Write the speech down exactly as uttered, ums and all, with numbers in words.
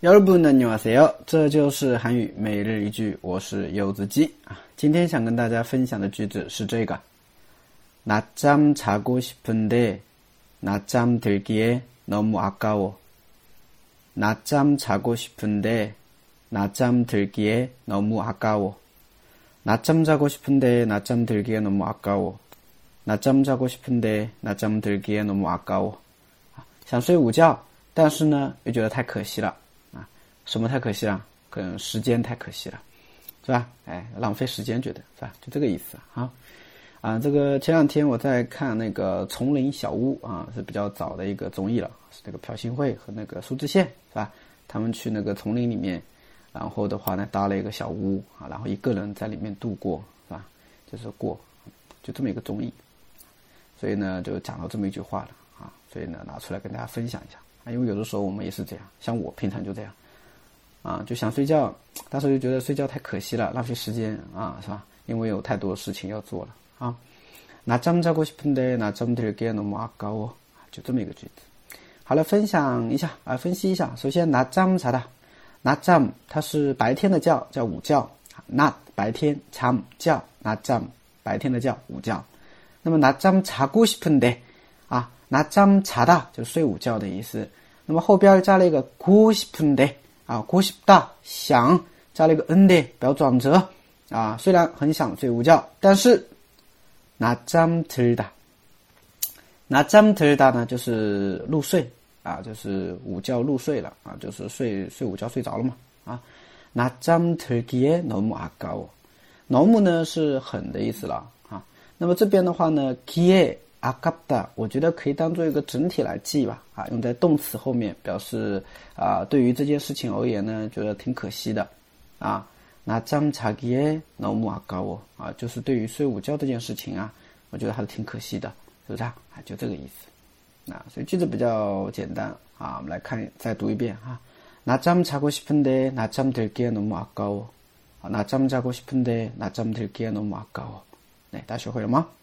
여러분 안녕하세요. 这就是韩语每日一句，我是柚子鸡啊。今天想跟大家分享的句子是这个： 낮잠 자고 싶은데 낮잠 들기에 너무 아까워. 낮잠 자고 싶은데 낮잠 들기에 너무 아까워. 낮잠 자고 싶은데 낮잠 들기에 너무 아까워. 낮잠 자고 싶은데 낮잠 들기에 너무 아까워. 想睡午觉，但是呢又觉得太可惜了啊。什么太可惜了？可能时间太可惜了，是吧？哎，浪费时间，觉得是吧？就这个意思啊。啊，这个前两天我在看那个《丛林小屋》啊，是比较早的一个综艺了，是那个朴信惠和那个苏志燮，是吧？他们去那个丛林里面，然后的话呢搭了一个小屋啊，然后一个人在里面度过，是吧？就是过，就这么一个综艺，所以呢就讲到这么一句话了啊，所以呢拿出来跟大家分享一下啊，因为有的时候我们也是这样，像我平常就这样啊，就想睡觉，但是又觉得睡觉太可惜了，浪费时间啊，是吧？因为有太多事情要做了。啊， 낮잠 자고 싶은데 낮잠 들기에 너무 아까워. 就这么一个句子。好了，分享一下啊，分析一下。首先 낮잠 자다， 낮잠它是白天的觉，叫午觉。낮白天，잠觉， 낮잠白天的觉，午觉。那么 낮잠 자고 싶은데啊 낮잠 자다就睡午觉的意思。那么后边加了一个고싶은데啊고싶다想，加了一个은데表转折啊，虽然很想睡午觉，但是낮잠 들다， 낮잠 들다呢就是入睡啊，就是午觉入睡了啊，就是睡睡午觉睡着了嘛啊。낮잠 들기에 너무 아까워， 너무呢是很的意思了啊。那么这边的话呢 기에 아깝다， 我觉得可以当做一个整体来记吧啊，用在动词后面表示啊，对于这件事情而言呢，觉得挺可惜的啊。낮잠 자기에 너무 아까워啊，就是对于睡午觉这件事情啊，我觉得还是挺可惜的，是不是啊？就这个意思啊，所以句子比较简单啊，我们来看，再读一遍啊。낮잠 자고 싶은데 낮잠 들기에 너무 아까워. 낮잠 자고 싶은데 낮잠 들기에 너무 아까워. 네, 다学会了吗？